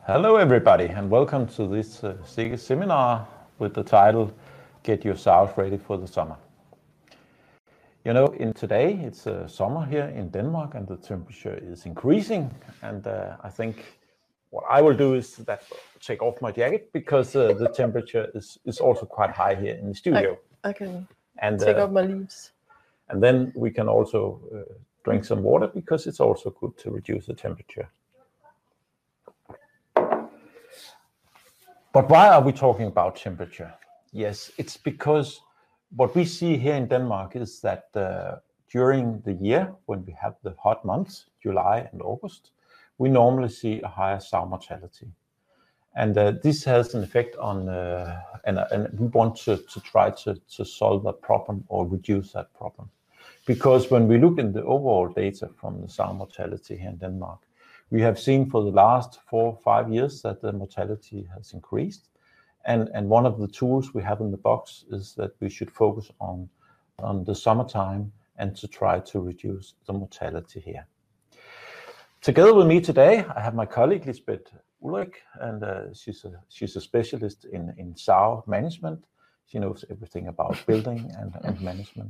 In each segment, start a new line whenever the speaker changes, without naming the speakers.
Hello everybody and welcome to this SIGGE seminar with the title Get Your Sows Ready for the Summer. You know, today it's summer here in Denmark and the temperature is increasing, and I think what I will do is take off my jacket because the temperature is also quite high here in the studio.
I can take off my leaves.
And then we can also drink some water because it's also good to reduce the temperature. But why are we talking about temperature? Yes, it's because what we see here in Denmark is that during the year, when we have the hot months, July and August, we normally see a higher sow mortality. And this has an effect on, and we want to try to solve that problem or reduce that problem. Because when we look in the overall data from the sow mortality here in Denmark, we have seen for the last 4 or 5 years that the mortality has increased. And one of the tools we have in the box is that we should focus on the summertime and to try to reduce the mortality here. Together with me today, I have my colleague Lisbeth Ulrich, and she's a specialist in sow management. She knows everything about building and management.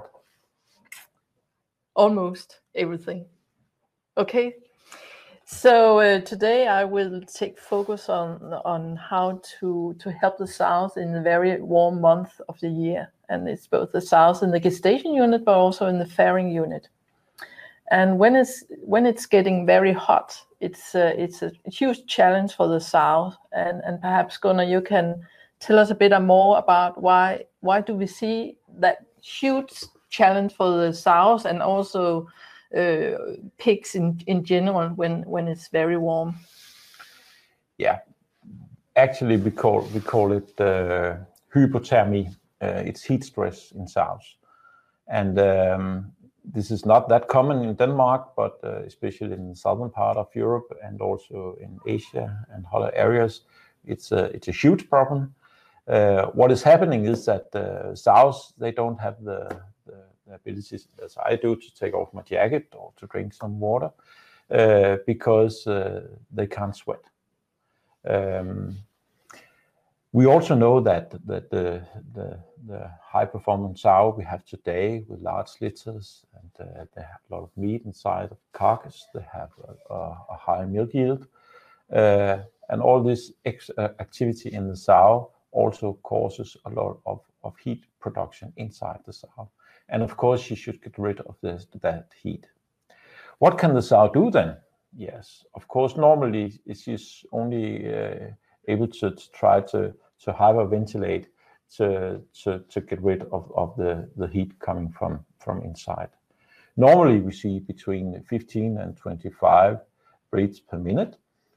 Almost everything. Okay. So today I will take focus on how to help the sows in the very warm month of the year, and it's both the sows in the gestation unit but also in the farrowing unit. And when it's getting very hot, it's a huge challenge for the sows. And perhaps Gunnar, you can tell us a bit more about why do we see that huge challenge for the sows and also pigs in general when it's very warm?
Yeah, actually we call it hypothermia. It's heat stress in sows, and this is not that common in Denmark, but especially in the southern part of Europe and also in Asia and other areas, it's a huge problem. What is happening is that the sows, they don't have the abilities as I do to take off my jacket or to drink some water because they can't sweat. We also know that the high performance sow we have today with large litters, and they have a lot of meat inside of the carcass, they have a high milk yield, and all this activity in the sow also causes a lot of heat production inside the sow. And of course, she should get rid of that heat. What can the sow do then? Yes, of course, normally she's only able to try to hyperventilate to get rid of the heat coming from inside. Normally, we see between 15 and 25 breaths per minute.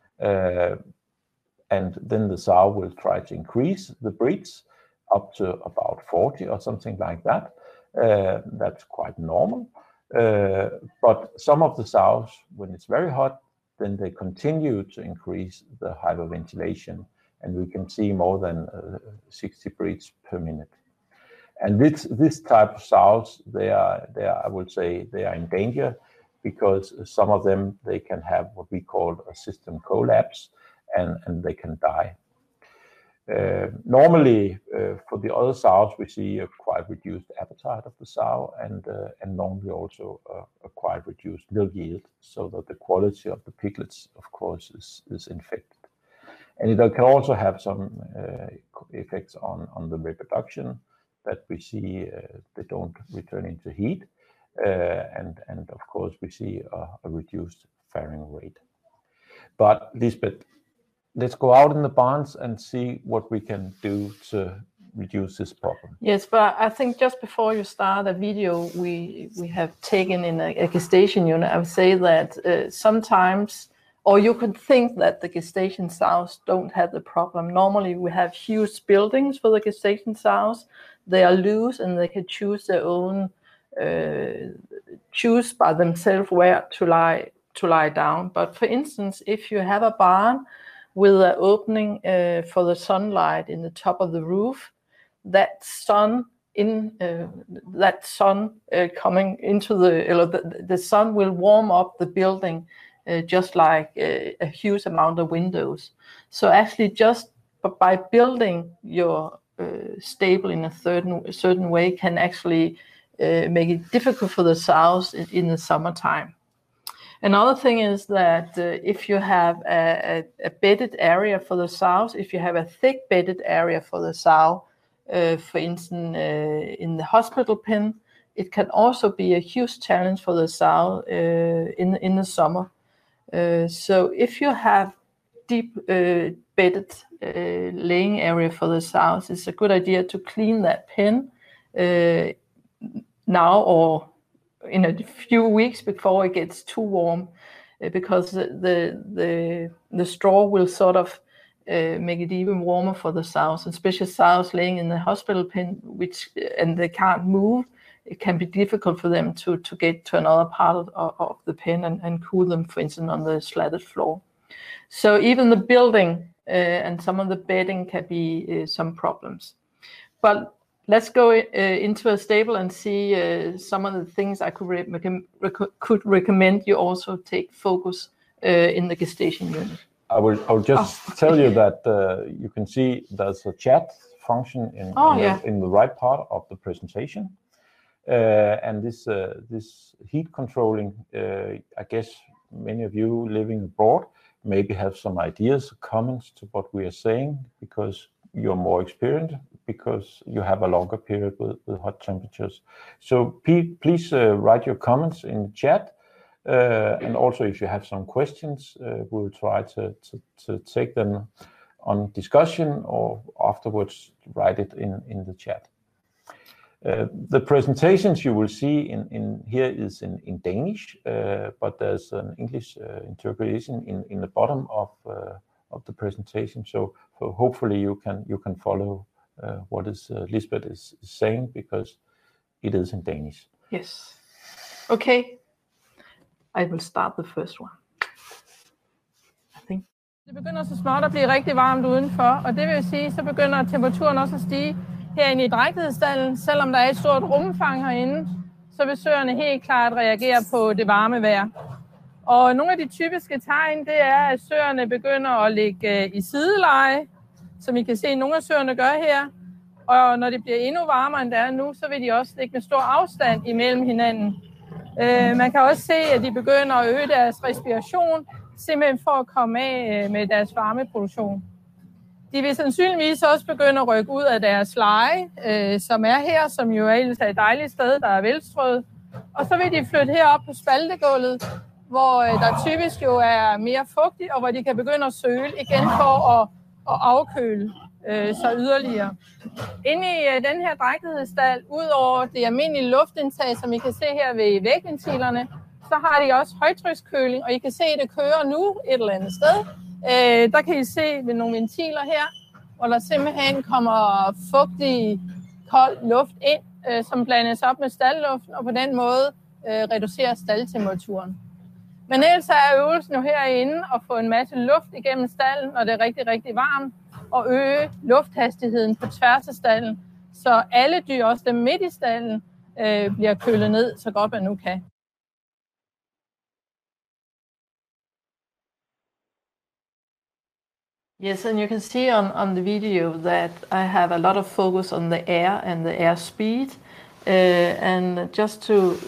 And then the sow will try to increase the breaths up to about 40 or something like that. That's quite normal. But some of the sows, when it's very hot, then they continue to increase the hyperventilation, and we can see more than 60 breaths per minute. And this type of sows, they are, I would say, they are in danger because some of them, they can have what we call a system collapse, and they can die. Normally, for the other sows, we see a quite reduced appetite of the sow, and normally also a quite reduced milk yield, so that the quality of the piglets, of course, is infected. And it can also have some effects on the reproduction, that we see they don't return into heat, and of course we see a reduced farrowing rate. But Lisbeth, let's go out in the barns and see what we can do to reduce this problem.
Yes, but I think just before you start a video we have taken in a gestation unit, I would say that sometimes, or you could think that the gestation sows don't have the problem. Normally we have huge buildings for the gestation sows. They are loose and they can choose their own, choose by themselves where to lie down. But for instance, if you have a barn with an opening for the sunlight in the top of the roof, that sun coming into the sun will warm up the building just like a huge amount of windows. So actually, just by building your stable in a certain way can actually make it difficult for the sows in the summertime. Another thing is that if you have a bedded area for the sows, if you have a thick bedded area for the sow, for instance, in the hospital pen, it can also be a huge challenge for the sow in the summer. So if you have deep bedded laying area for the sows, it's a good idea to clean that pen now or in a few weeks before it gets too warm, because the straw will sort of make it even warmer for the sows, especially sows laying in the hospital pen, and they can't move. It can be difficult for them to get to another part of the pen and cool them, for instance, on the slatted floor. So even the building and some of the bedding can be some problems. But let's go into a stable and see some of the things I could recommend you also take focus in the gestation unit.
I will just tell you that you can see there's a chat function in the right part of the presentation. And this heat controlling, I guess many of you living abroad maybe have some ideas, comments to what we are saying, because you're more experienced, because you have a longer period with hot temperatures. So please write your comments in the chat, and also if you have some questions, we'll try to take them on discussion, or afterwards write it in the chat. The presentations you will see in here is in Danish, but there's an English interpretation in the bottom of the presentation. So hopefully you can follow what Lisbeth is saying, because it is in Danish.
Yes. Okay. I will start the first one. I think.
Det begynder så småt at blive rigtig varmt udenfor, og det vil sige, så begynder temperaturen også at stige herinde i drægtighedsstalden. Selvom der er et stort rumfang herinde, så vil søerne helt klart reagere på det varme vejr. Og nogle af de typiske tegn, det er, at søerne begynder at ligge i sideleje, som I kan se, nogle af søerne gør her. Og når det bliver endnu varmere, end det er nu, så vil de også ligge med stor afstand imellem hinanden. Man kan også se, at de begynder at øge deres respiration, simpelthen for at komme af med deres varmeproduktion. De vil sandsynligvis også begynde at rykke ud af deres leje, som er her, som jo ellers er et dejligt sted, der er velstrøget. Og så vil de flytte herop på spaltegulvet, hvor der typisk jo er mere fugtigt, og hvor de kan begynde at søle igen for at afkøle så yderligere. Inde i den her drægtighedsstald, ud over det almindelige luftindtag, som I kan se her ved vægventilerne, så har de også højtrykskøling, og I kan se, at det kører nu et eller andet sted. Der kan I se ved nogle ventiler her, hvor der simpelthen kommer fugtig, kold luft ind, som blandes op med staldluften, og på den måde reducerer staldtemperaturen. Men ellers er øvelsen jo herinde at få en masse luft igennem stalden, når det er rigtig, rigtig varmt, og øge lufthastigheden på tværs af stalden, så alle dyr, også dem midt i stalden, bliver kølet ned så godt man nu kan.
Yes, and you can see on the video that I have a lot of focus on the air and the air speed, and just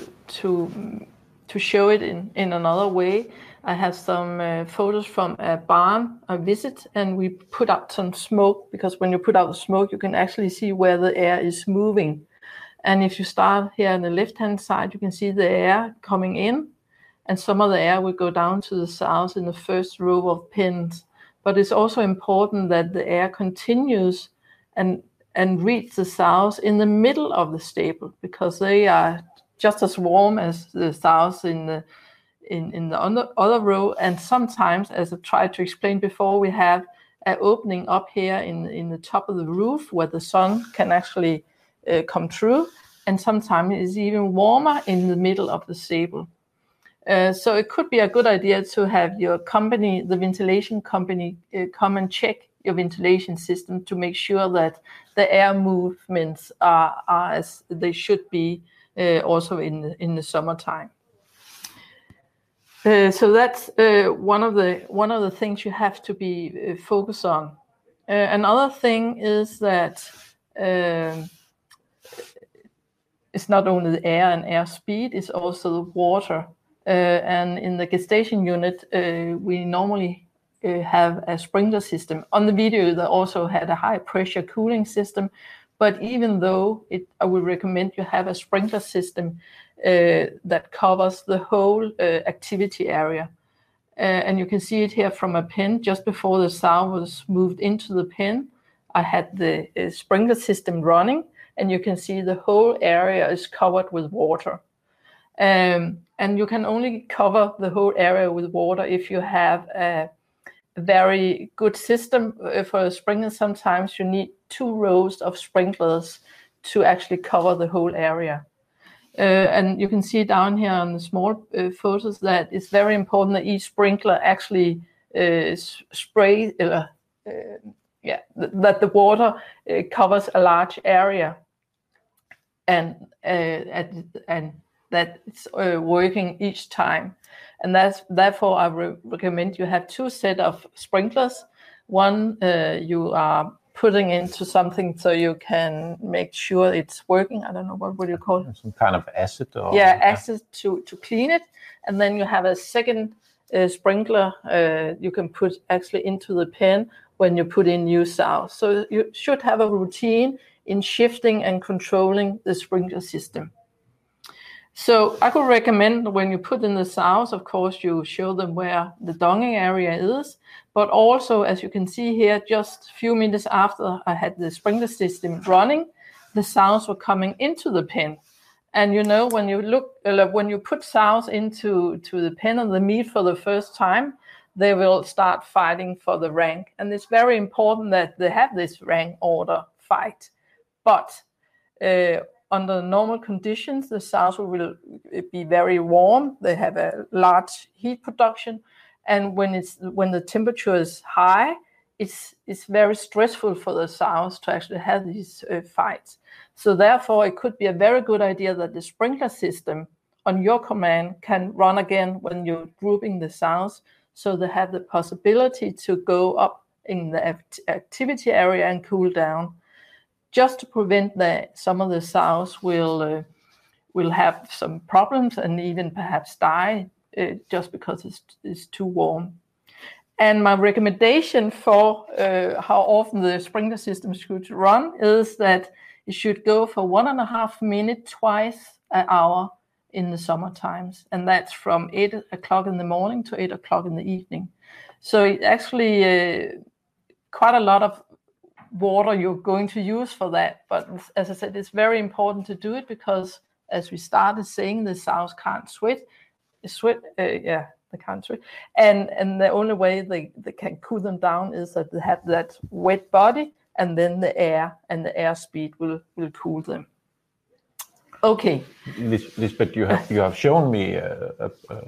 to show it in another way, I have some photos from a barn, a visit, and we put out some smoke, because when you put out the smoke, you can actually see where the air is moving. And if you start here on the left-hand side, you can see the air coming in, and some of the air will go down to the south in the first row of pens. But it's also important that the air continues and reach the sows in the middle of the stable, because they are just as warm as the sows in the other row. And sometimes, as I tried to explain before, we have an opening up here in the top of the roof where the sun can actually come through. And sometimes it's even warmer in the middle of the stable. So it could be a good idea to have your company, the ventilation company, come and check your ventilation system to make sure that the air movements are as they should be, also in the summertime. So that's one of the things you have to be focused on. Another thing is that it's not only the air and air speed, it's also the water. And in the gestation unit, we normally have a sprinkler system. On the video, they also had a high pressure cooling system. But even though I would recommend you have a sprinkler system that covers the whole activity area. And you can see it here from a pen. Just before the sow was moved into the pen, I had the sprinkler system running, and you can see the whole area is covered with water. And you can only cover the whole area with water if you have a very good system for a sprinkler. Sometimes you need 2 rows of sprinklers to actually cover the whole area. And you can see down here on the small photos that it's very important that each sprinkler actually spray, that the water covers a large area, and that it's working each time. And therefore I recommend you have 2 sets of sprinklers. One you are putting into something so you can make sure it's working. I don't know, what would you call it?
Some kind of acid? Or
acid to clean it. And then you have a second sprinkler you can put actually into the pen when you put in new sows. So you should have a routine in shifting and controlling the sprinkler system. So I could recommend when you put in the sows, of course, you show them where the donging area is, but also, as you can see here, just a few minutes after I had the sprinkler system running, the sows were coming into the pen. And you know, when you put sows into the pen of the meat for the first time, they will start fighting for the rank. And it's very important that they have this rank order fight. But under normal conditions, the sows will be very warm. They have a large heat production, and when the temperature is high, it's very stressful for the sows to actually have these fights. So therefore, it could be a very good idea that the sprinkler system on your command can run again when you're grouping the sows, so they have the possibility to go up in the activity area and cool down, just to prevent that some of the sows will have some problems and even perhaps die just because it's too warm. And my recommendation for how often the sprinkler system should run is that it should go for 1.5 minutes twice an hour in the summer times, and that's from 8 o'clock in the morning to 8 o'clock in the evening. So it actually quite a lot of water you're going to use for that, but as I said, it's very important to do it because, as we started saying, the sows can't sweat. They can't sweat, and the only way they can cool them down is that they have that wet body, and then the air and the air speed will cool them. Okay.
Lisbeth, you have shown me a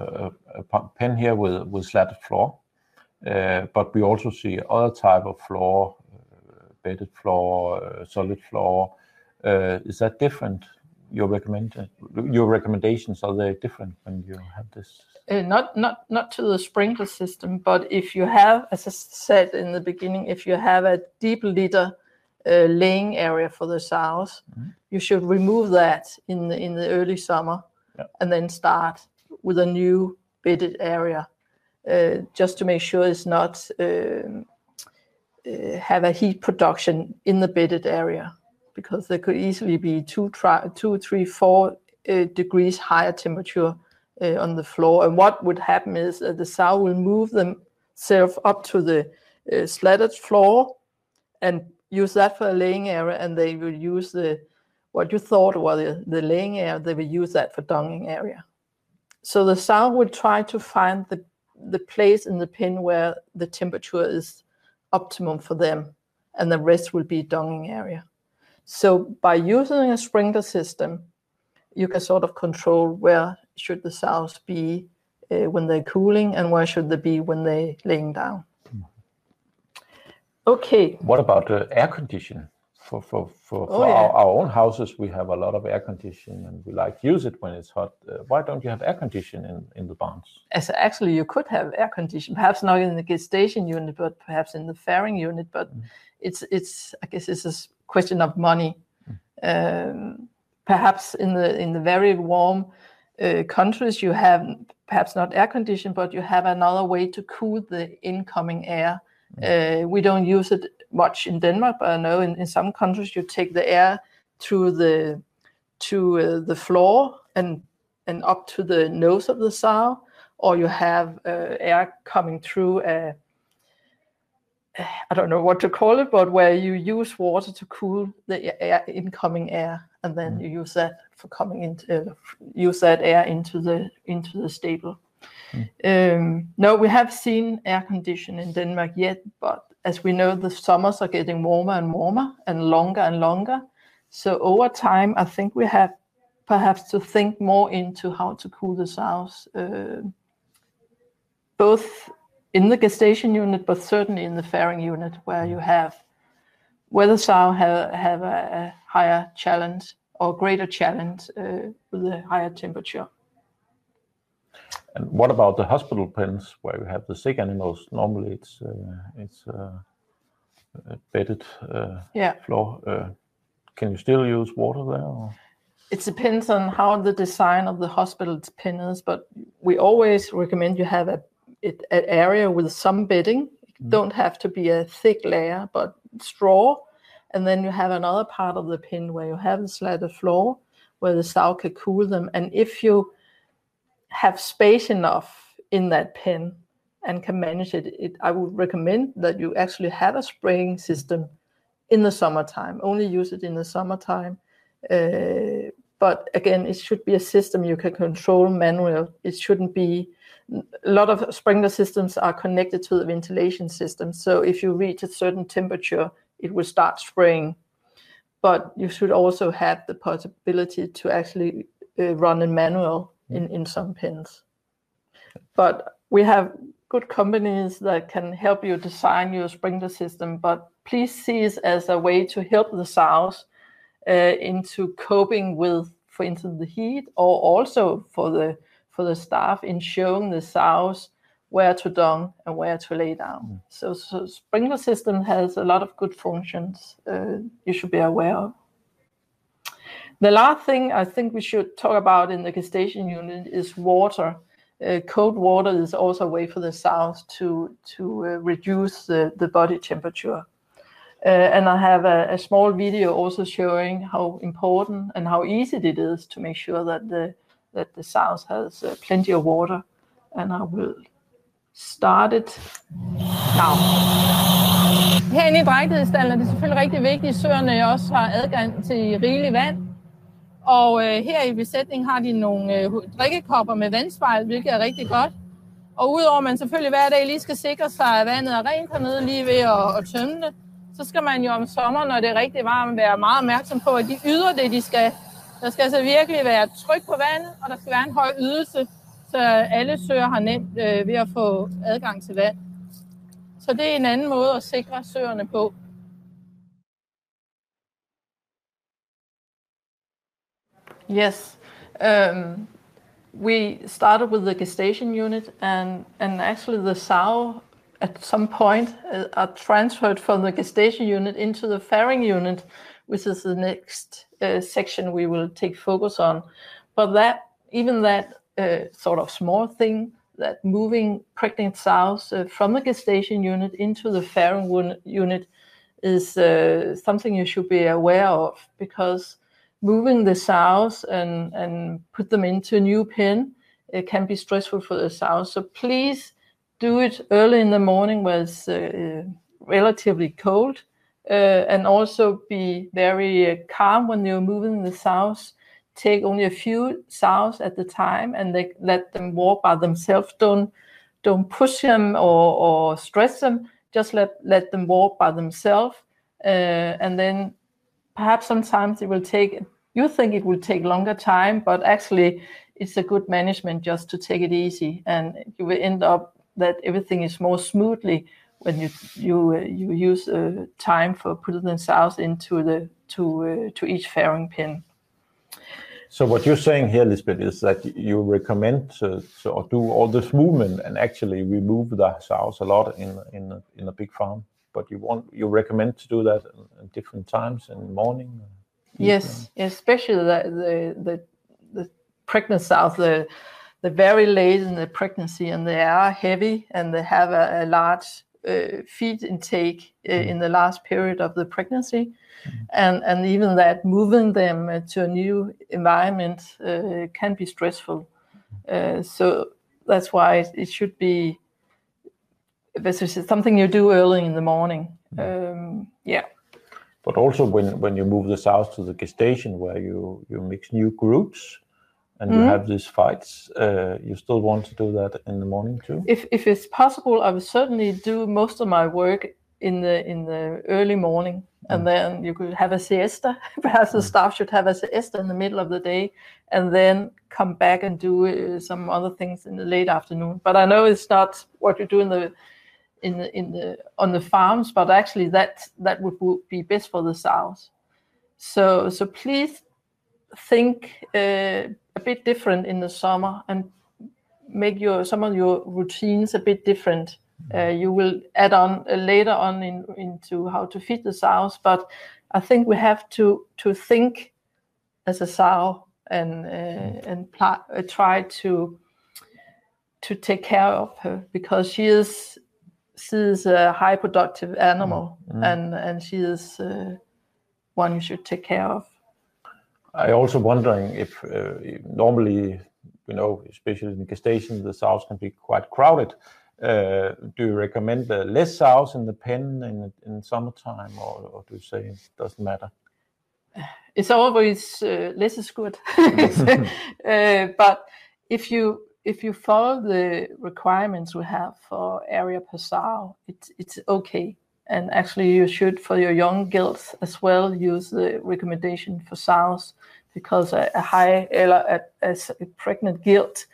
pen here with slatted floor, but we also see other type of floor, bedded floor, solid floor. Is that different? Your recommendations, are they different when you have this?
Not to the sprinkler system, but if you have, as I said in the beginning, if you have a deep litter laying area for the sows, you should remove that in the early summer, and then start with a new bedded area, just to make sure it's not have a heat production in the bedded area, because there could easily be 2, 3, 4 degrees higher temperature on the floor. And what would happen is that the sow will move themselves up to the slatted floor and use that for a laying area, and they will use what you thought was the laying area, they will use that for donging area. So the sow will try to find the place in the pen where the temperature is optimum for them, and the rest will be donging area. So by using a sprinkler system, you can sort of control where should the sows be when they're cooling, and where should they be when they're laying down. Okay.
What about air condition? our own houses, we have a lot of air conditioning, and we like to use it when it's hot. Why don't you have air conditioning in the barns?
Actually, you could have air conditioning, perhaps not in the gestation unit, but perhaps in the fairing unit. But it's I guess it's a question of money. Perhaps in the very warm countries, you have perhaps not air conditioning, but you have another way to cool the incoming air. We don't use it much in Denmark, but I know in some countries you take the air through the floor and up to the nose of the sow, or you have air coming through I don't know what to call it, but where you use water to cool the incoming air, and then you use that for use that air into the stable. No, we have seen air conditioning in Denmark yet, but as we know, the summers are getting warmer and warmer and longer. So over time, I think we have perhaps to think more into how to cool the sows, both in the gestation unit, but certainly in the fairing unit, where the sow have a higher challenge or greater challenge with a higher temperature.
And what about the hospital pens where you have the sick animals? Normally it's a bedded floor. Can you still use water there? Or?
It depends on how the design of the hospital's pen is, but we always recommend you have an area with some bedding. It don't have to be a thick layer, but straw. And then you have another part of the pen where you have a slatted floor where the sow can cool them. And if you have space enough in that pen and can manage it, I would recommend that you actually have a spraying system in the summertime. Only use it in the summertime. But again, it should be a system you can control manually. It shouldn't be. A lot of sprinkler systems are connected to the ventilation system. So if you reach a certain temperature, it will start spraying. But you should also have the possibility to actually run in manual in some pens. But we have good companies that can help you design your sprinkler system. But please see it as a way to help the sows into coping with, for instance, the heat, or also for the staff in showing the sows where to dung and where to lay down. So sprinkler system has a lot of good functions you should be aware of. The last thing I think we should talk about in the gestation unit is water. Cold water is also a way for the sows to reduce the body temperature. And I have a small video also showing how important and how easy it is to make sure that the sows has plenty of water. And I will start it now.
Herinde i drægtighedsstallen er det selvfølgelig rigtig vigtigt, at søerne også har adgang til rigeligt vand. Og her i besætningen har de nogle drikkekopper med vandspejl, hvilket er rigtig godt. Og udover at man selvfølgelig hver dag lige skal sikre sig, at vandet er rent hernede lige ved at tømme det, så skal man jo om sommeren, når det er rigtig varmt, være meget opmærksom på, at de yder det, de skal. Der skal altså virkelig være tryk på vandet, og der skal være en høj ydelse, så alle søer har nemt ved at få adgang til vand. Så det er en anden måde at sikre søerne på.
Yes, we started with the gestation unit, and actually the sow at some point are transferred from the gestation unit into the fairing unit, which is the next section we will take focus on. But that sort of small thing, that moving pregnant sows from the gestation unit into the fairing unit is something you should be aware of, because moving the sows and put them into a new pen, it can be stressful for the sows. So please do it early in the morning where it's relatively cold, and also be very calm when you're moving the sows. Take only a few sows at the time and let them walk by themselves. Don't push them or stress them. Just let them walk by themselves. And then perhaps sometimes you think it will take longer time, but actually it's a good management just to take it easy, and you will end up that everything is more smoothly when you use time for putting the sows into the to each fairing pen.
So what you're saying here, Lisbeth, is that you recommend to do all this movement and actually remove the sows a lot in a big farm, but you recommend to do that at different times in the morning?
Yes, especially the pregnant sows, the very late in the pregnancy, and they are heavy and they have a large feed intake in the last period of the pregnancy. And even that, moving them to a new environment can be stressful. So that's why it should be something you do early in the morning.
But also when you move the sows to the gestation, where you mix new groups and you have these fights, you still want to do that in the morning too?
If it's possible, I would certainly do most of my work in the early morning. And then you could have a siesta. Perhaps the staff should have a siesta in the middle of the day, and then come back and do some other things in the late afternoon. But I know it's not what you do on the farms, but actually that would be best for the sows. So please think a bit different in the summer and make some of your routines a bit different. You will add on later on into how to feed the sows, but I think we have to think as a sow and try to take care of her, because she is a high productive animal, and she is one you should take care of.
I also wondering if normally, especially in gestation, the sows can be quite crowded. Do you recommend less sows in the pen in summertime, or do you say it doesn't matter?
It's always less is good. But if you follow the requirements we have for area per sow, it's okay. And actually you should, for your young gilts as well, use the recommendation for sows, because a pregnant gilt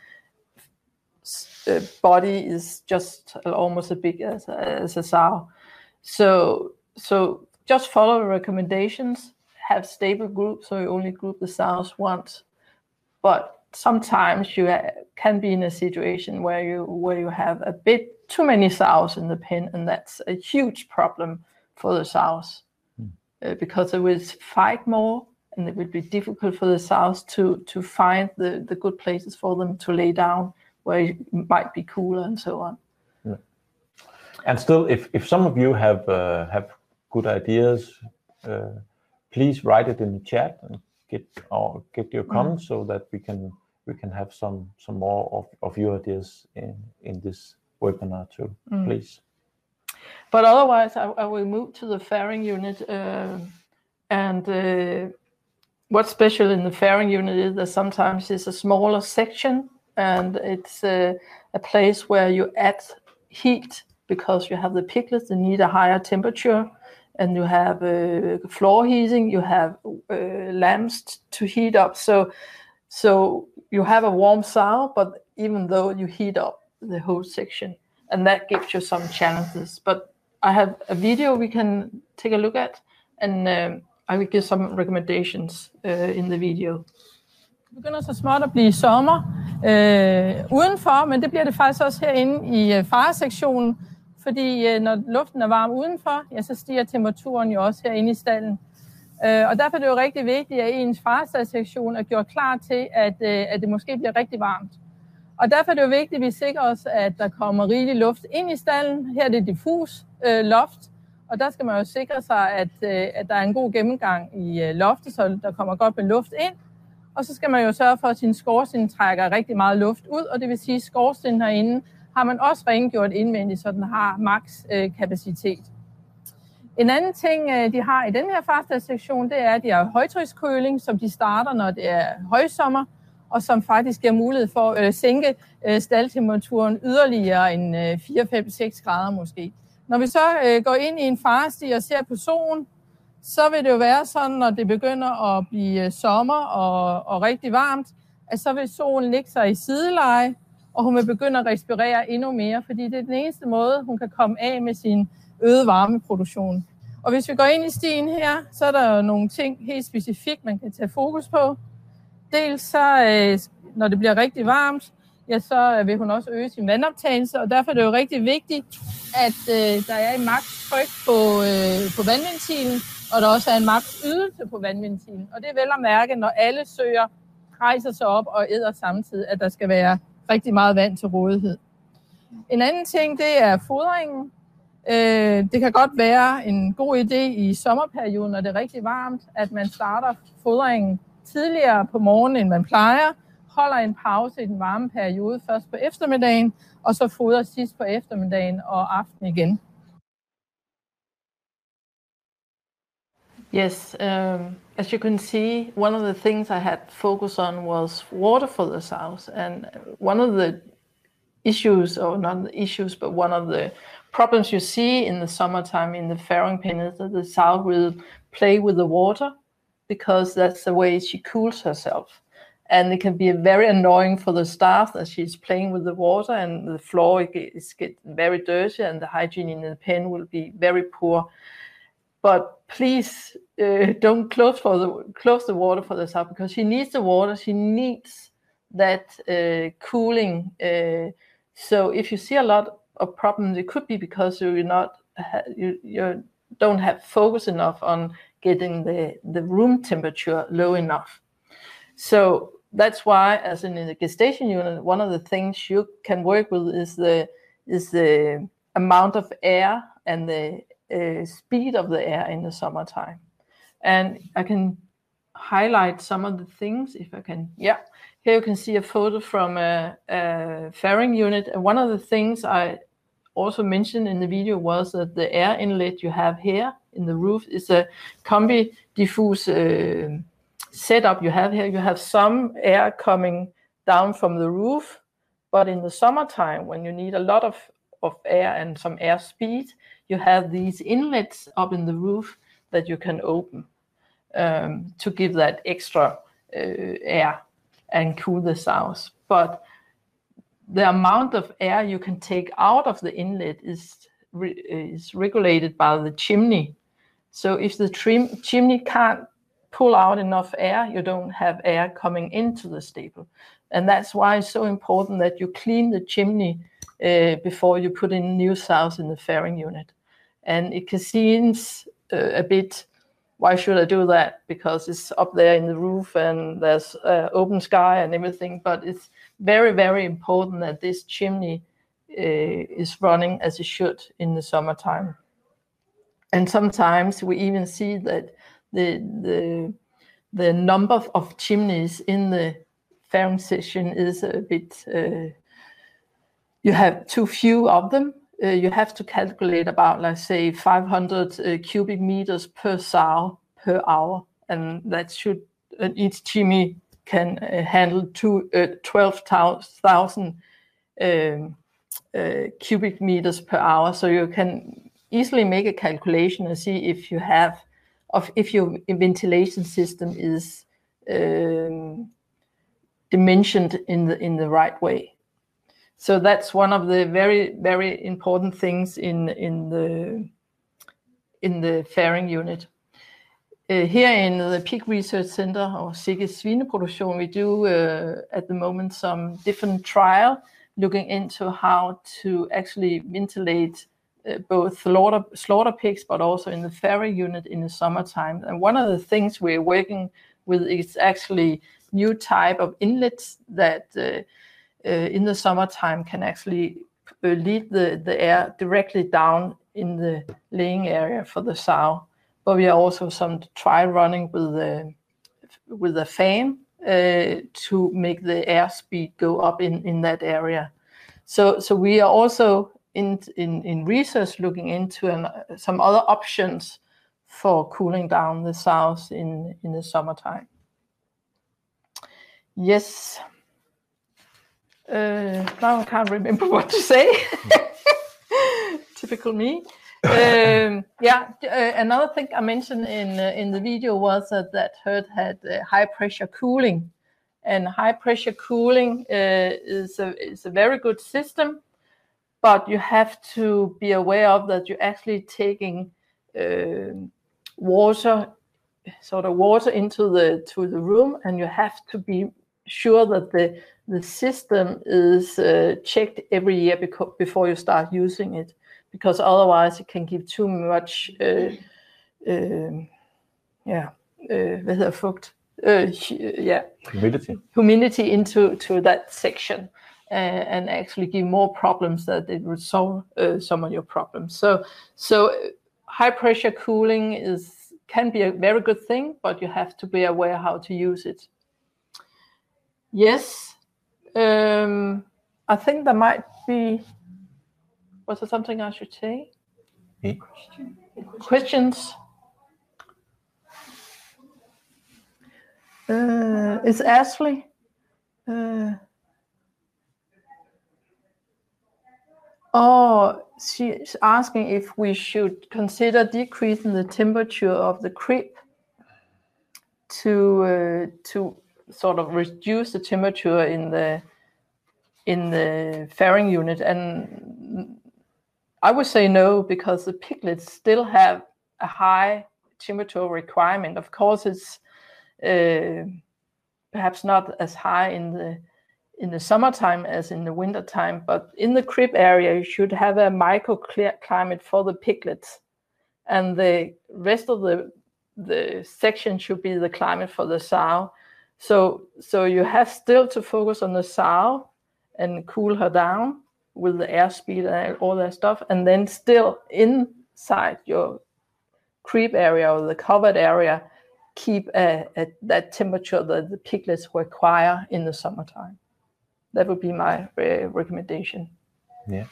body is just almost as big as a sow. So just follow the recommendations, have stable groups, so you only group the sows once. But sometimes you can be in a situation where you have a bit too many sows in the pen, and that's a huge problem for the sows, because they will fight more, and it will be difficult for the sows to find the good places for them to lay down, where it might be cooler and so on.
Yeah. And still, if some of you have good ideas, please write it in the chat and get your comments so that we can have some more of your ideas in this webinar too, please.
But otherwise, I will move to the fairing unit. What's special in the fairing unit is that sometimes it's a smaller section, and it's a place where you add heat, because you have the piglets that need a higher temperature, and you have floor heating, you have lamps to heat up. So you have a warm sow, but even though you heat up the whole section, and that gives you some challenges. But I have a video we can take a look at, and I will give some recommendations in the video.
Det begynder så småt at blive sommer udenfor, men det bliver det faktisk også herinde i faresektionen, fordi når luften er varm udenfor, ja, så stiger temperaturen jo også herinde i stalden. Og derfor er det jo rigtig vigtigt, at ens farestaldsektion er gjort klar til, at det måske bliver rigtig varmt. Og derfor er det jo vigtigt, at vi sikrer os, at der kommer rigelig luft ind i stalden. Her er det diffus loft, og der skal man jo sikre sig, at der er en god gennemgang i loftet, så der kommer godt med luft ind. Og så skal man jo sørge for, at sin skorsten trækker rigtig meget luft ud, og det vil sige, at skorstenen herinde har man også rengjort indvendigt, så den har maks kapacitet. En anden ting, de har i den her farestaldsektion, det er, at de har højtrykskøling, som de starter, når det er højsommer, og som faktisk giver mulighed for at sænke staldtemperaturen yderligere end 4, 5, 6 grader måske. Når vi så går ind i en farestig og ser på solen, så vil det jo være sådan, når det begynder at blive sommer og rigtig varmt, at så vil solen lægge sig i sideleje, og hun vil begynde at respirere endnu mere, fordi det er den eneste måde, hun kan komme af med sin øgede varmeproduktion. Og hvis vi går ind i stien her, så er der jo nogle ting helt specifikt, man kan tage fokus på. Dels så, når det bliver rigtig varmt, ja, så vil hun også øge sin vandoptagelse, og derfor er det jo rigtig vigtigt, at der er en maks tryk på vandventilen, og der også er en maks ydelse på vandventilen. Og det er vel at mærke, når alle søer rejser sig op og æder samtidig, at der skal være rigtig meget vand til rådighed. En anden ting, det er fodringen. Det kan godt være en god idé i sommerperioden, når det er rigtig varmt, at man starter fodringen tidligere på morgenen, end man plejer, holder en pause i den varme periode først på eftermiddagen, og så fodrer sidst på eftermiddagen og aften igen.
Yes, as you can see, one of the things I had focus on was water for the sows, and one of the issues, or not the issues, but one of the problems you see in the summertime in the fairing pen is that the sow will play with the water because that's the way she cools herself. And it can be very annoying for the staff that she's playing with the water and the floor is getting very dirty and the hygiene in the pen will be very poor. But please don't close the water for the sow because she needs the water. She needs that cooling. So if you see a lot of problems, it could be because you don't have focus enough on getting the room temperature low enough. So that's why, as in the gestation unit, one of the things you can work with is the amount of air and the speed of the air in the summertime. And I can highlight some of the things if I can. Yeah, here you can see a photo from a fairing unit. And one of the things I also mentioned in the video was that the air inlet you have here in the roof is a combi diffuse setup you have here. You have some air coming down from the roof, but in the summertime when you need a lot of air and some air speed, you have these inlets up in the roof that you can open to give that extra air and cool the sows. But the amount of air you can take out of the inlet is regulated by the chimney. So if the chimney can't pull out enough air, you don't have air coming into the stable. And that's why it's so important that you clean the chimney before you put in new sows in the fairing unit. And it seems a bit, why should I do that? Because it's up there in the roof and there's open sky and everything. But it's very, very important that this chimney is running as it should in the summertime. And sometimes we even see that the number of chimneys in the fairing section is a bit, you have too few of them. You have to calculate about, let's say, 500 cubic meters per sow per hour, and that should each chimney can handle 12,000 cubic meters per hour. So you can easily make a calculation and see if if your ventilation system is dimensioned in the right way. So that's one of the very, very important things in the fairing unit. Here in the Peak Research Center or Sigges Svineproduktion, we do at the moment some different trial looking into how to actually ventilate both slaughter pigs, but also in the fairing unit in the summertime. And one of the things we're working with is actually new type of inlets that in the summertime can actually lead the air directly down in the laying area for the sow. But we are also some trial running with a fan to make the air speed go up in that area. So we are also in research looking into some other options for cooling down the sows in the summertime. Yes. Now I can't remember what to say. Typical me. Another thing I mentioned in the video was that herd had high pressure cooling, And high pressure cooling is a very good system, but you have to be aware of that you're actually taking water into the room, and you have to be sure that the system is checked every year before you start using it, because otherwise it can give too much humidity into that section, and actually give more problems that it would solve some of your problems. So high pressure cooling can be a very good thing, but you have to be aware how to use it. Yes, I think there might be. Was there something I should say? Questions? It's Ashley. She's asking if we should consider decreasing the temperature of the crib to sort of reduce the temperature in the fairing unit, and I would say no, because the piglets still have a high temperature requirement. Of course, it's perhaps not as high in the summertime as in the wintertime, but in the crib area you should have a microclimate for the piglets, and the rest of the section should be the climate for the sow. So you have still to focus on the sow and cool her down with the airspeed and all that stuff, and then still inside your crib area or the covered area, keep at that temperature that the piglets require in the summertime. That would be my recommendation.
Yeah.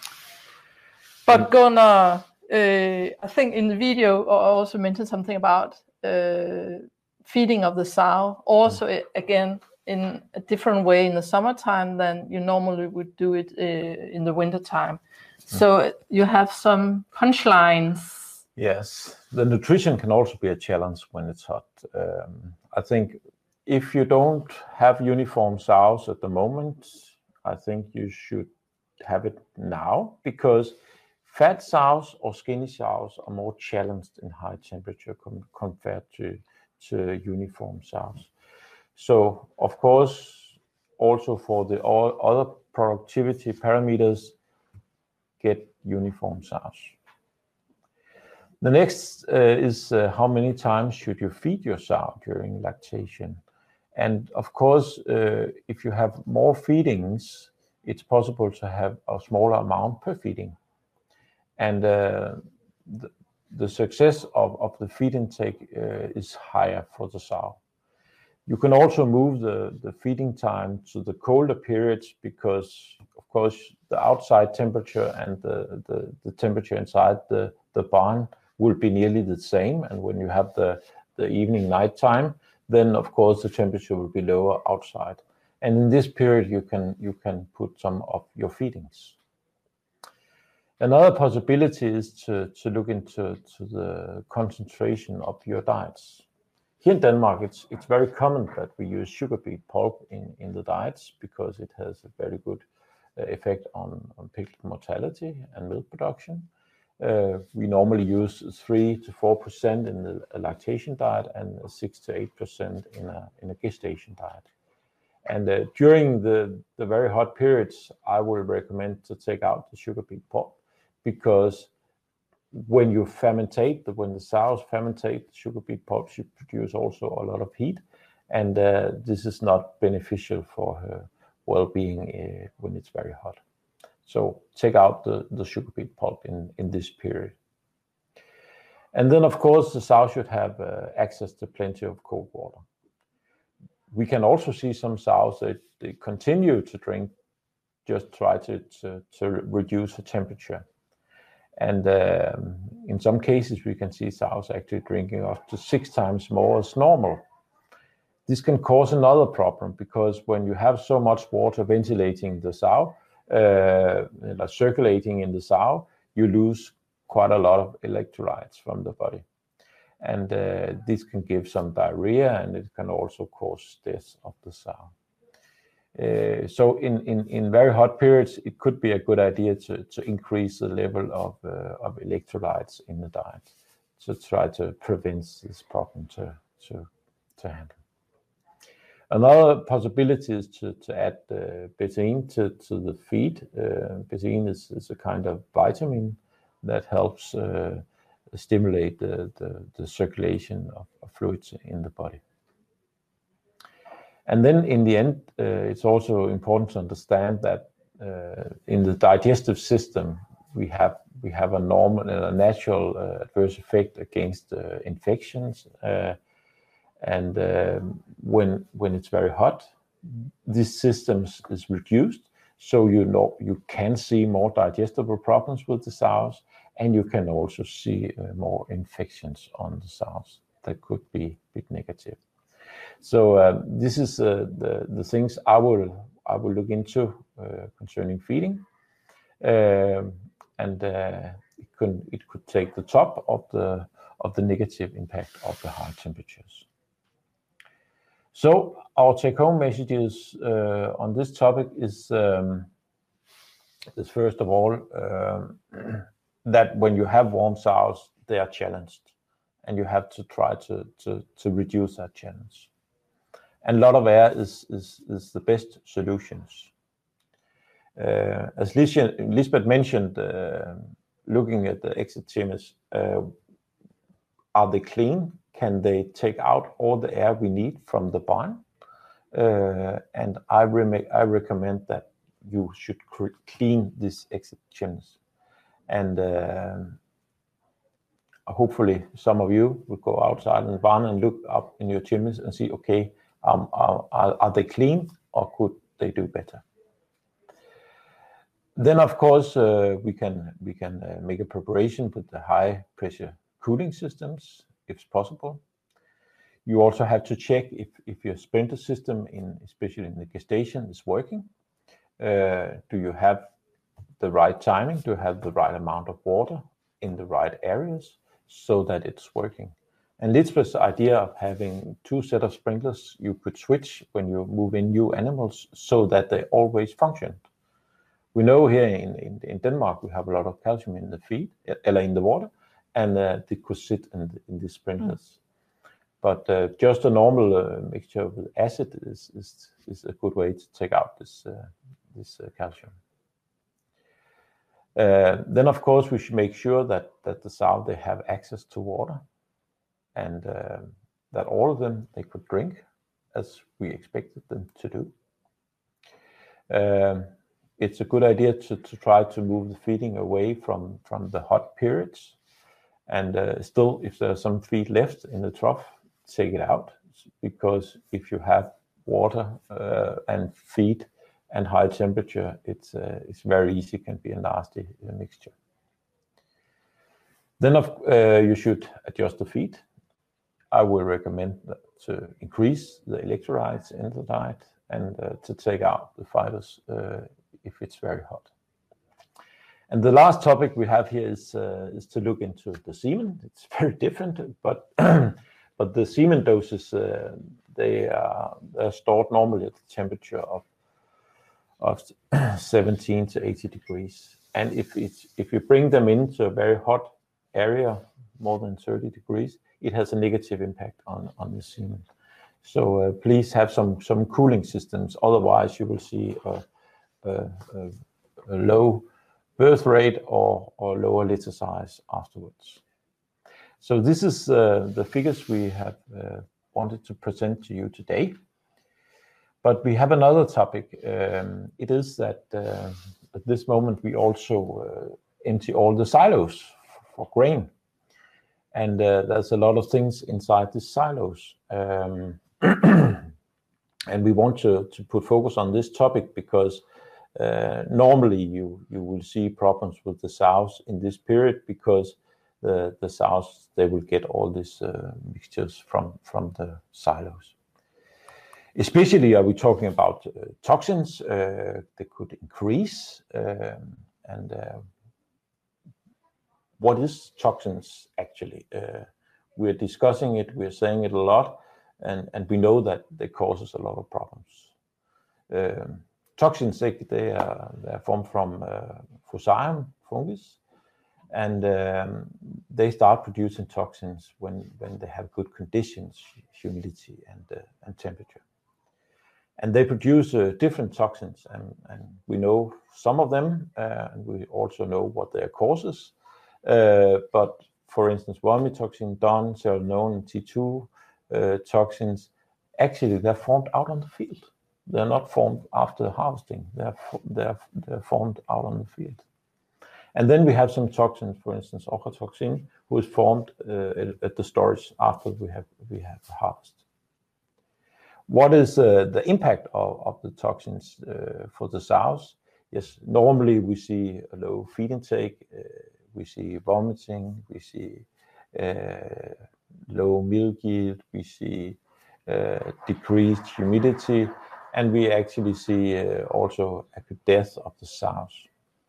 But Gunnar, I think in the video I also mentioned something about feeding of the sow. Also, again, in a different way in the summertime than you normally would do it in the wintertime. So you have some punchlines.
Yes, the nutrition can also be a challenge when it's hot. I think if you don't have uniform sows at the moment, I think you should have it now, because fat sows or skinny sows are more challenged in high temperature compared to uniform sows. So, of course, also for the all other productivity parameters, get uniform sows. The next is how many times should you feed your sow during lactation? And of course, if you have more feedings, it's possible to have a smaller amount per feeding. And the success of the feed intake is higher for the sow. You can also move the feeding time to the colder periods, because, of course, the outside temperature and the temperature inside the barn will be nearly the same. And when you have the evening night time, then of course the temperature will be lower outside. And in this period, you can put some of your feedings. Another possibility is to look into the concentration of your diets. Here in Denmark, it's very common that we use sugar beet pulp in the diets, because it has a very good effect on piglet mortality and milk production. We normally use 3 to 4% in the lactation diet and 6 to 8% in a gestation diet. And during the very hot periods, I will recommend to take out the sugar beet pulp, because when you fermentate, when the sows fermentate sugar beet pulp, you produce also a lot of heat, and this is not beneficial for her well-being when it's very hot. So take out the sugar beet pulp in this period. And then, of course, the sow should have access to plenty of cold water. We can also see some sows that they continue to drink, just try to reduce the temperature. And in some cases, we can see sows actually drinking up to 6 times more as normal. This can cause another problem, because when you have so much water ventilating the sow, circulating in the sow, you lose quite a lot of electrolytes from the body. And this can give some diarrhea, and it can also cause death of the sow. So in very hot periods, it could be a good idea to increase the level of electrolytes in the diet to try to prevent this problem to handle. Another possibility is to add betaine to the feed. Betaine is a kind of vitamin that helps stimulate the circulation of fluids in the body. And then in the end, it's also important to understand that in the digestive system, we have a normal, a natural adverse effect against infections. And when it's very hot, this system is reduced. So you can see more digestible problems with the sows, and you can also see more infections on the sows that could be a bit negative. So this is the things I will look into concerning feeding, and it could take the top of the negative impact of the high temperatures. So our take-home messages on this topic is first of all that when you have warm sows, they are challenged, and you have to try to reduce that challenge. And a lot of air is the best solutions. As Lisbeth mentioned, looking at the exit chambers, are they clean? Can they take out all the air we need from the barn? And I recommend that you should clean these exit chimneys. And hopefully some of you will go outside in the barn and look up in your chimneys and see, okay, are they clean, or could they do better? Then of course we can make a preparation with the high pressure cooling systems if possible. You also have to check if your sprinkler system, especially in the gestation, is working. Do you have the right timing? Do you have the right amount of water in the right areas so that it's working? And Lisbeth's idea of having 2 sets of sprinklers you could switch when you move in new animals so that they always function. We know here in Denmark we have a lot of calcium in the feed, in the water, and they could sit in the sprinklers. But just a normal mixture with acid is a good way to take out this calcium. Then of course we should make sure that the sow, they have access to water, and that all of them they could drink as we expected them to do. It's a good idea to try to move the feeding away from the hot periods, and still if there's some feed left in the trough, take it out, because if you have water and feed and high temperature, it's very easy, it can be a nasty mixture. Then you should adjust the feed. I will recommend to increase the electrolytes in the diet and to take out the fibers if it's very hot. And the last topic we have here is to look into the semen. It's very different, but but the semen doses they are stored normally at the temperature of 17 to 80 degrees. And if you bring them into a very hot area, more than 30 degrees, it has a negative impact on the semen. So please have some cooling systems. Otherwise, you will see a low birth rate or lower litter size afterwards. So this is the figures we have wanted to present to you today. But we have another topic. It is that at this moment we also empty all the silos for grain. And there's a lot of things inside these silos. And we want to put focus on this topic because normally you will see problems with the sows in this period, because the sows, they will get all these mixtures from the silos. Especially are we talking about toxins that could increase, and what is toxins actually? We're discussing it, we're saying it a lot, and we know that they causes a lot of problems. Toxins, they are formed from Fusarium fungus, and they start producing toxins when they have good conditions, humidity and temperature. And they produce different toxins, and we know some of them, and we also know what their causes. But for instance, vomitoxin, DON, ceranone, and T2 toxins, actually they're formed out on the field. They're not formed after harvesting. They're formed out on the field. And then we have some toxins, for instance, ochratoxin, who is formed at the storage after we have harvest. What is the impact of the toxins for the sows? Yes, normally we see a low feed intake, we see vomiting, we see low milk yield, we see decreased humidity, and we actually see also acute death of the sows.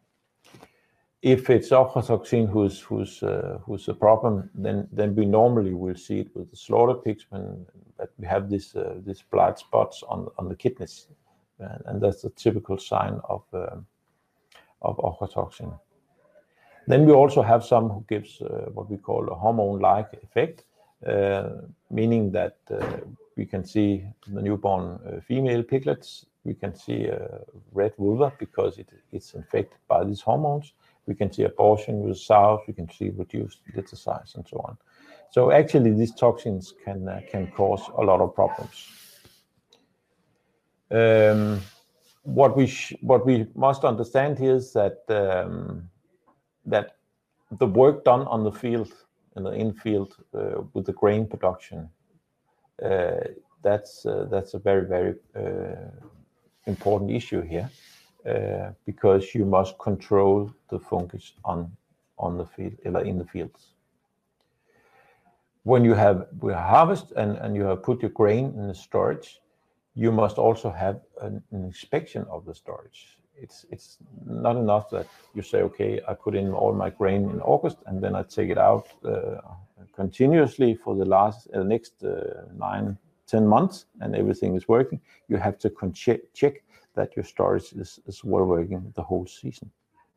If it's ochratoxin who's a problem, then we normally will see it with the slaughter pigs when we have these blind spots on the kidneys, and that's a typical sign of ochratoxin. Then we also have some who gives what we call a hormone-like effect, meaning that we can see the newborn female piglets, we can see red vulva because it's infected by these hormones. We can see abortion with sows, we can see reduced litter size and so on. So actually these toxins can cause a lot of problems. What we must understand here is that that the work done on the field, in the infield with the grain production, that's a very, very important issue here. Because you must control the fungus on the field, or in the fields. When you harvest and you have put your grain in the storage, you must also have an inspection of the storage. It's not enough that you say, okay, I put in all my grain in August and then I take it out continuously for the next 9-10 months and everything is working. You have to check that your storage is well working the whole season.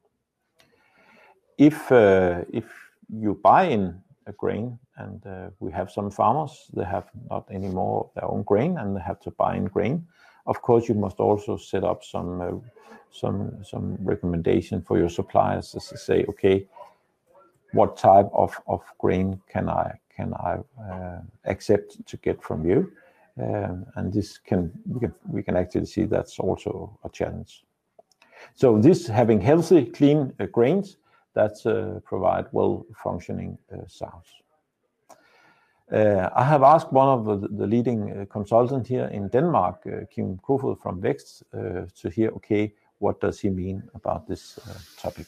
If you buy in a grain, and we have some farmers, they have not any more of their own grain and they have to buy in grain, of course you must also set up some recommendation for your suppliers to say, okay, what type of grain can I accept to get from you? And this we can actually see that's also a challenge. So this having healthy, clean grains, that's provide well-functioning sows. I have asked one of the leading consultants here in Denmark, Kim Kofod from Vækst, to hear, okay, what does he mean about this topic?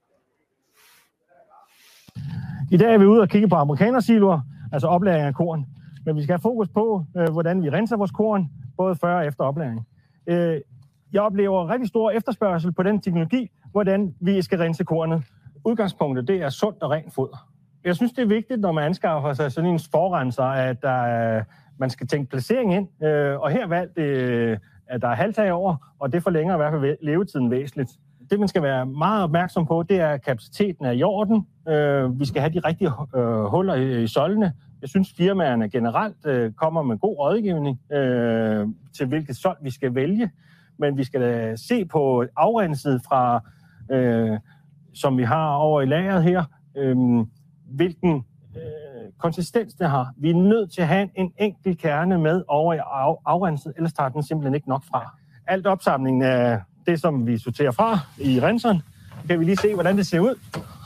I dag er vi ude og kigge på amerikanersiloer, altså oplagring af korn. Men vi skal have fokus på, hvordan vi renser vores korn, både før og efter oplagring. Jeg oplever rigtig stor efterspørgsel på den teknologi, hvordan vi skal rense kornet. Udgangspunktet, det er sundt og rent foder. Jeg synes, det er vigtigt, når man anskaffer sig sådan en forrenser, at man skal tænke placering ind. Og her valgt, at der er halvtag over, og det forlænger i hvert fald levetiden væsentligt. Det, man skal være meget opmærksom på, det er, at kapaciteten er i orden. Vi skal have de rigtige huller i søjlene. Jeg synes, firmaerne generelt kommer med god rådgivning til, hvilket sold vi skal vælge. Men vi skal se på afrenset fra, som vi har over i lageret her, hvilken konsistens det har. Vi er nødt til at have en enkelt kerne med over i afrenset, ellers tager den simpelthen ikke nok fra. Alt opsamlingen af det, som vi sorterer fra i renseren, kan vi lige se, hvordan det ser ud.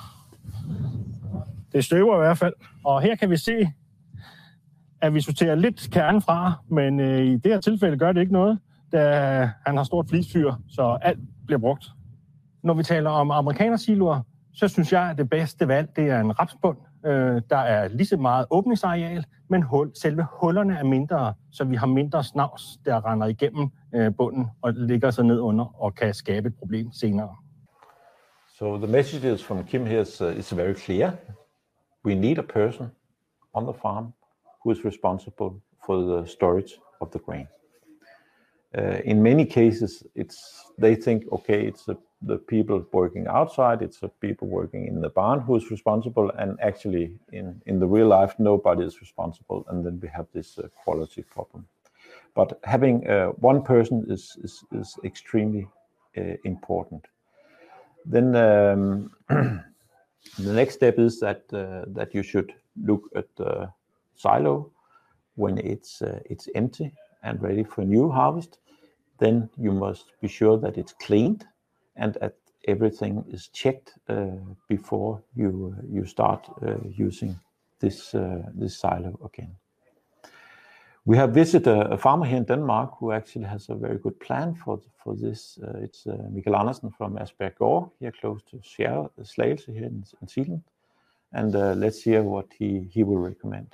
Det støver i hvert fald. Og her kan vi se, at vi sorterer lidt kernen fra, men i det her tilfælde gør det ikke noget, da han har stort flisfyr, så alt bliver brugt. Når vi taler om amerikanersiloer, så synes jeg, at det bedste valg, det er en rapsbund. Der er lige så meget åbningsareal, men selve hullerne er mindre, så vi har mindre snavs, der render igennem bunden og ligger så ned under og kan skabe et problem senere.
So the messages from Kim here is very clear. We need a person on the farm who is responsible for the storage of the grain. In many cases, they think, okay, it's the people working outside, it's the people working in the barn who is responsible, and actually in the real life, nobody is responsible, and then we have this quality problem. But having one person is extremely important. Then the next step is that you should look at the silo when it's empty and ready for new harvest. Then you must be sure that it's cleaned and that everything is checked before you start using this silo again. We have visited a farmer here in Denmark who actually has a very good plan for this. It's Michael Andersen from Asbjerg Gård, here close to Slagelse here in Zealand. And let's hear what he will recommend.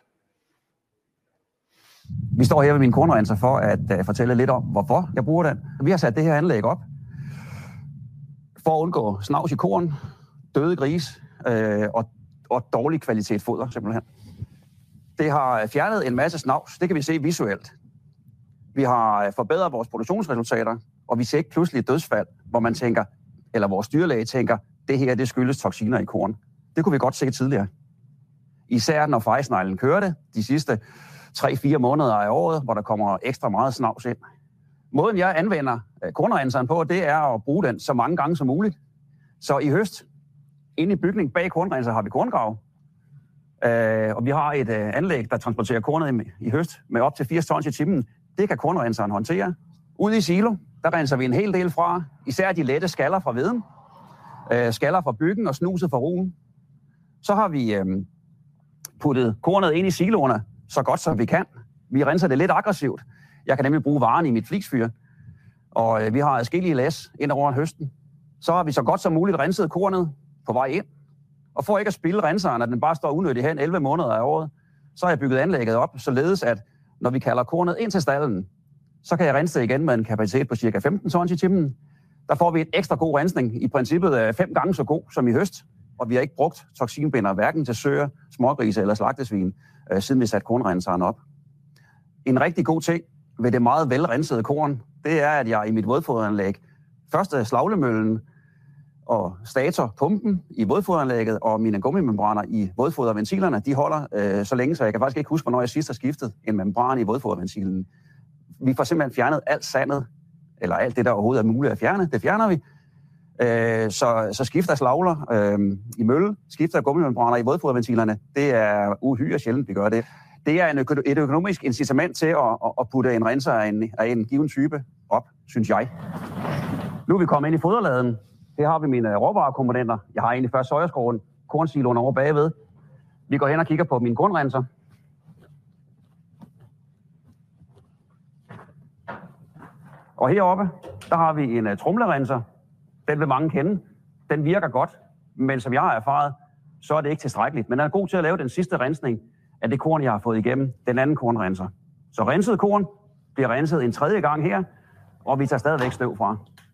Vi står her ved min kornrenser for at fortælle lidt om, hvorfor jeg bruger den. Vi har sat det her anlæg op for at undgå snavs i korn, døde gris og dårlig kvalitet foder simpelthen. Det har fjernet en masse snavs, det kan vi se visuelt. Vi har forbedret vores produktionsresultater, og vi ser ikke pludselig et dødsfald, hvor man tænker, eller vores dyrlæge tænker, det her det skyldes toksiner i korn. Det kunne vi godt se tidligere. Især når fejsneglen kørte de sidste 3-4 måneder af året, hvor der kommer ekstra meget snavs ind. Måden jeg anvender kornrenseren på, det er at bruge den så mange gange som muligt. Så i høst, inde i bygningen bag kornrenser, har vi korngrav. Og vi har et anlæg, der transporterer kornet i høst med op til 80 tons i timen. Det kan kornrenseren håndtere. Ude i silo, der renser vi en hel del fra. Især de lette skaller fra hveden, skaller fra byggen og snuset fra roen. Så har vi puttet kornet ind i siloerne så godt som vi kan. Vi renser det lidt aggressivt. Jeg kan nemlig bruge varen i mit flisfyr. Og vi har adskillige læs ind over høsten. Så har vi så godt som muligt renset kornet på vej ind. Og for ikke at spilde renseren, at den bare står unødigt hen 11 måneder af året, så har jeg bygget anlægget op, således at når vi kalder kornet ind til stallen, så kan jeg rense det igen med en kapacitet på ca. 15 tons i timen. Der får vi et ekstra god rensning, i princippet 5 gange så god som i høst. Og vi har ikke brugt toksinbinder hverken til søer, smågrise eller slagtesvin, siden vi satte kornrenseren op. En rigtig god ting ved det meget velrensede korn, det er, at jeg i mit vådfoderanlæg først slaglemøllen og stator pumpen i vådfoderanlægget og mine gummimembraner i vådfoderventilerne, de holder så længe, så jeg kan faktisk ikke huske, hvornår jeg sidst har skiftet en membran i vådfoderventilen. Vi får simpelthen fjernet alt sandet, eller alt det, der overhovedet er muligt at fjerne, det fjerner vi. Så skifter slagler i mølle, skifter gummimembraner i vådfoderventilerne, det er uhyre sjældent, vi gør det. Det er et økonomisk incitament til at putte en renser af en given type op, synes jeg. Nu er vi kommet ind i foderladen. Her har vi mine råvarekomponenter. Jeg har egentlig først sojaskroen, kornsiloen over bagved. Vi går hen og kigger på min kornrenser. Og heroppe, der har vi en tromlerenser. Den vil mange kende. Den virker godt, men som jeg har erfaret, så er det ikke tilstrækkeligt. Men den er god til at lave den sidste rensning af det korn, jeg har fået igennem den anden kornrenser. Så renset korn bliver renset en tredje gang her, og vi tager stadigvæk støv fra.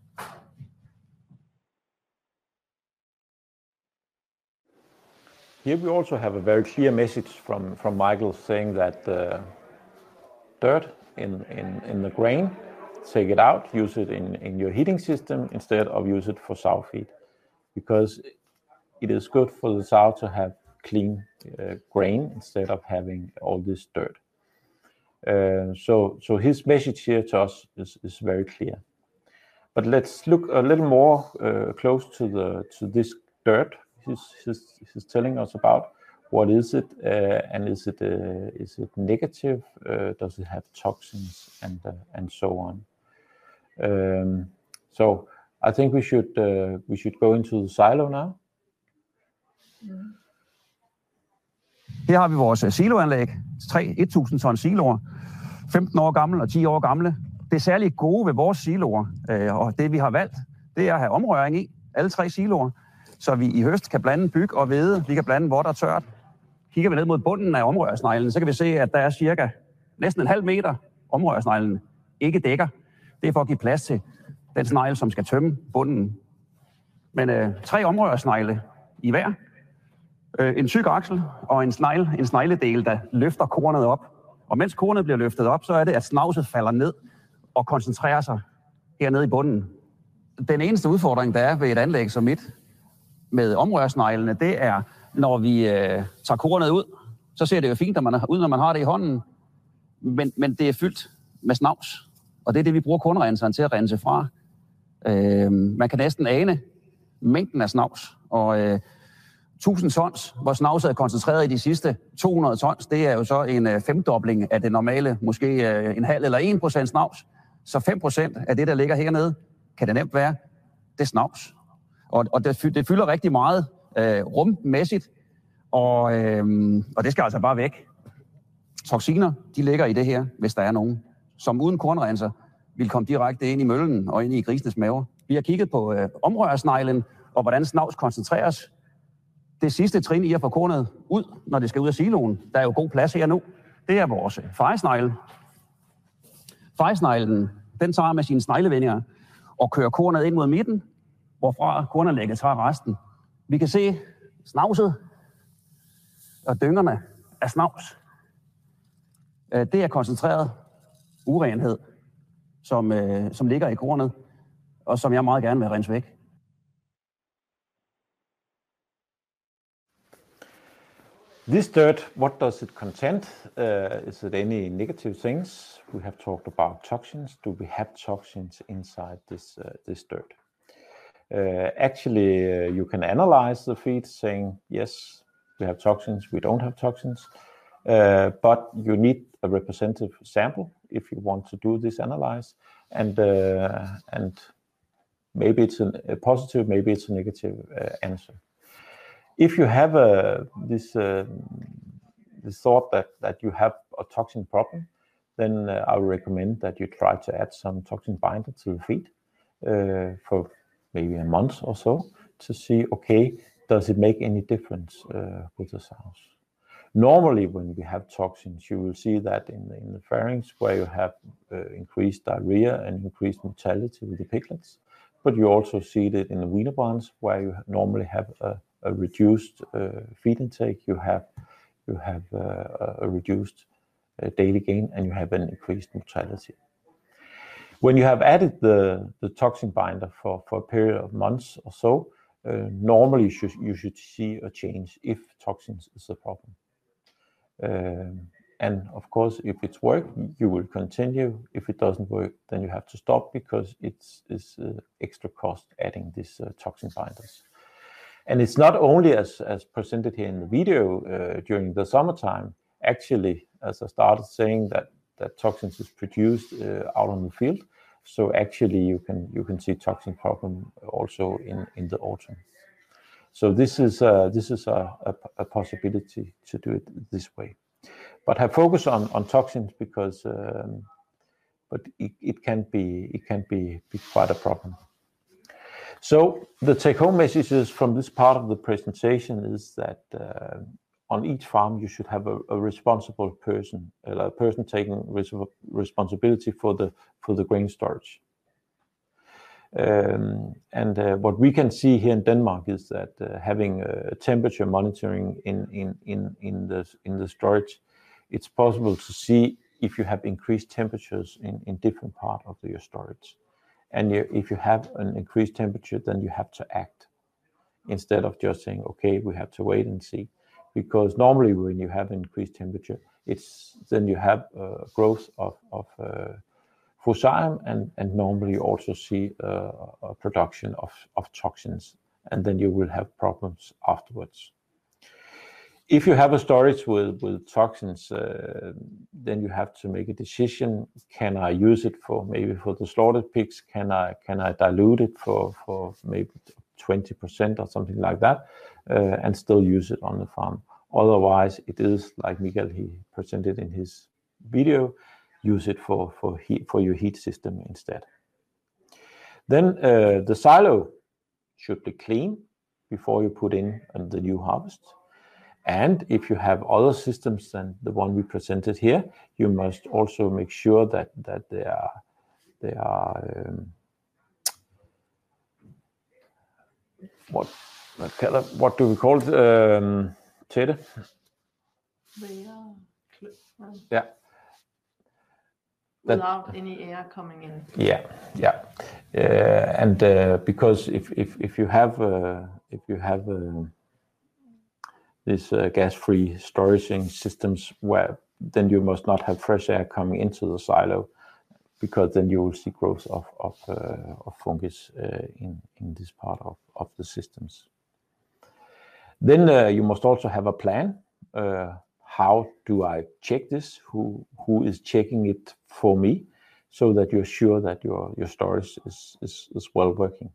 Here we also have a very clear message from Michael saying that dirt in the grain, take it out, use it in your heating system instead of use it for sow feed, because it is good for the sow to have clean grain instead of having all this dirt. So his message here to us is very clear. But let's look a little more close to this dirt. He's telling us about what is it and is it negative? Does it have toxins and so on? So I think we should go into the silo now.
Her har vi vores siloanlæg, 1000 ton siloer, 15 år gamle og 10 år gamle. Det særligt gode ved vores siloer, og det vi har valgt, det er at have omrøring i, alle 3 siloer, så vi i høst kan blande byg og hvede, vi kan blande vådt og tørt. Kigger vi ned mod bunden af omrørsneglen, så kan vi se, at der er cirka næsten en halv meter omrørsneglen ikke dækker. Det er for at give plads til den snegl, som skal tømme bunden. Men 3 omrørsnegle i hver. En tyk aksel og en snegledel, der løfter kornet op. Og mens kornet bliver løftet op, så er det, at snavset falder ned og koncentrerer sig hernede i bunden. Den eneste udfordring, der er ved et anlæg som mit, med omrørsneglene, det er, når vi tager kornet ud, så ser det jo fint, når man har det i hånden, men det er fyldt med snavs. Og det er det, vi bruger kornrenseren til at rense fra. Man kan næsten ane mængden af snavs. Og 1000 tons, hvor snavset er koncentreret i de sidste 200 tons, det er jo så en femdobling af det normale, måske en halv eller 1% snavs. Så 5% af det, der ligger hernede, kan det nemt være, det er snavs. Og det fylder rigtig meget rummæssigt, og det skal altså bare væk. Toksiner, de ligger i det her, hvis der er nogen, som uden kornrenser vil komme direkte ind i møllen og ind i grisenes maver. Vi har kigget på omrørsneglen og hvordan snavs koncentreres. Det sidste trin i at få kornet ud, når det skal ud af siloen, der er jo god plads her nu, det er vores fejesnegle. Fejesneglen, den tager med sine sneglevendinger og kører kornet ind mod midten, hvorfra kornanlægget tager resten. Vi kan se snavset og dyngerne af snavs. Det er koncentreret urenhed, som ligger i kornet, og som jeg meget gerne vil rense væk.
This dirt, what does it contain? Is it any negative things? We have talked about toxins. Do we have toxins inside this dirt? Actually, you can analyze the feed saying, yes, we have toxins, we don't have toxins. But you need a representative sample if you want to do this analysis. And maybe it's a positive, maybe it's a negative answer. If you have this thought that you have a toxin problem, then I would recommend that you try to add some toxin binder to the feed for maybe a month or so to see, okay, does it make any difference with the sows? Normally, when we have toxins, you will see that in the pharynx where you have increased diarrhea and increased mortality with the piglets, but you also see it in the weaner barns where you normally have a reduced feed intake, you have a reduced daily gain, and you have an increased mortality. When you have added the toxin binder for a period of months or so, normally you should see a change if toxins is a problem. And of course, if it's work, you will continue. If it doesn't work, then you have to stop because it's extra cost adding these toxin binders. And it's not only as presented here in the video during the summertime. Actually, as I started saying, that toxins is produced out on the field. So actually, you can see toxin problem also in the autumn. So this is a possibility to do it this way. But have focus on toxins because, but it can be quite a problem. So the take-home messages from this part of the presentation is that on each farm you should have a responsible person, a person taking responsibility for the grain storage. And what we can see here in Denmark is that having temperature monitoring in the storage, it's possible to see if you have increased temperatures in different parts of your storage. And if you have an increased temperature, then you have to act instead of just saying, okay, we have to wait and see. Because normally when you have increased temperature, then you have growth of fusarium, and normally you also see a production of toxins, and then you will have problems afterwards. If you have a storage with toxins, then you have to make a decision. Can I use it for the slaughtered pigs? Can I dilute it for maybe 20% or something like that, and still use it on the farm? Otherwise, it is like Miguel he presented in his video. Use it for your heat system instead. Then the silo should be clean before you put in the new harvest. And if you have other systems than the one we presented here, you must also make sure that they are what do we call it, Tete? Yeah.
without any air coming in.
Yeah. And because if you have these gas-free storage systems, where then you must not have fresh air coming into the silo, because then you will see growth of fungus in this part of the systems. Then you must also have a plan. How do I check this? Who is checking it for me, so that you're sure that your storage is well working.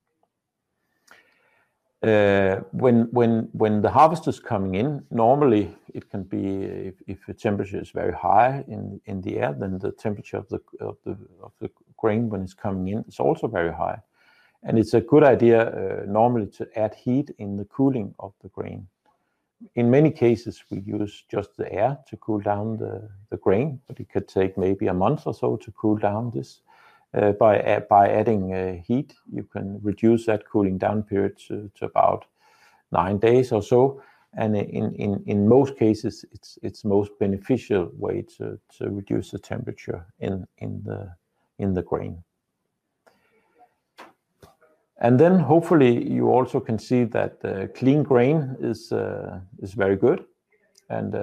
When the harvest is coming in, normally it can be if the temperature is very high in the air, then the temperature of the grain when it's coming in is also very high, and it's a good idea normally to add heat in the cooling of the grain. In many cases, we use just the air to cool down the grain, but it could take maybe a month or so to cool down this. By adding heat, you can reduce that cooling down period to about 9 days or so. And in most cases, it's most beneficial way to reduce the temperature in the grain. And then hopefully you also can see that clean grain is very good, and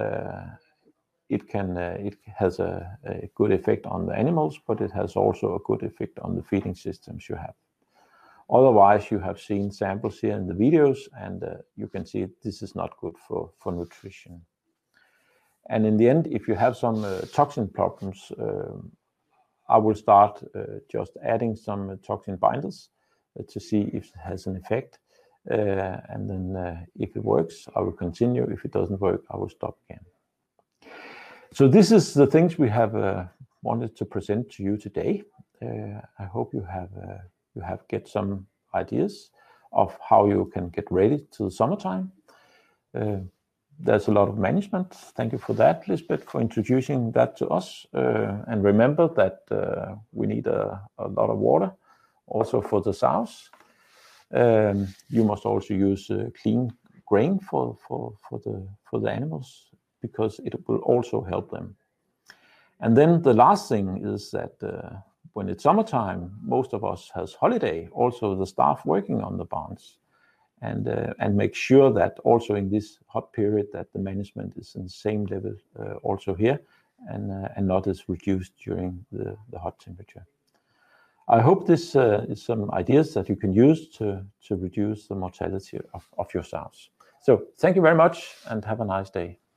it has a good effect on the animals, but it has also a good effect on the feeding systems you have. Otherwise, you have seen samples here in the videos, and you can see this is not good for nutrition. And in the end, if you have some toxin problems, I will start just adding some toxin binders to see if it has an effect. And then if it works, I will continue. If it doesn't work, I will stop again. So this is the things we have wanted to present to you today. I hope you have get some ideas of how you can get ready to the summertime. There's a lot of management. Thank you for that, Lisbeth, for introducing that to us. And remember that we need a lot of water also for the sows. You must also use clean grain for the animals, because it will also help them. And then the last thing is that when it's summertime, most of us has holiday, also the staff working on the barns, and make sure that also in this hot period that the management is in the same level also here, and not as reduced during the hot temperature. I hope this is some ideas that you can use to reduce the mortality of your sows. So thank you very much, and have a nice day.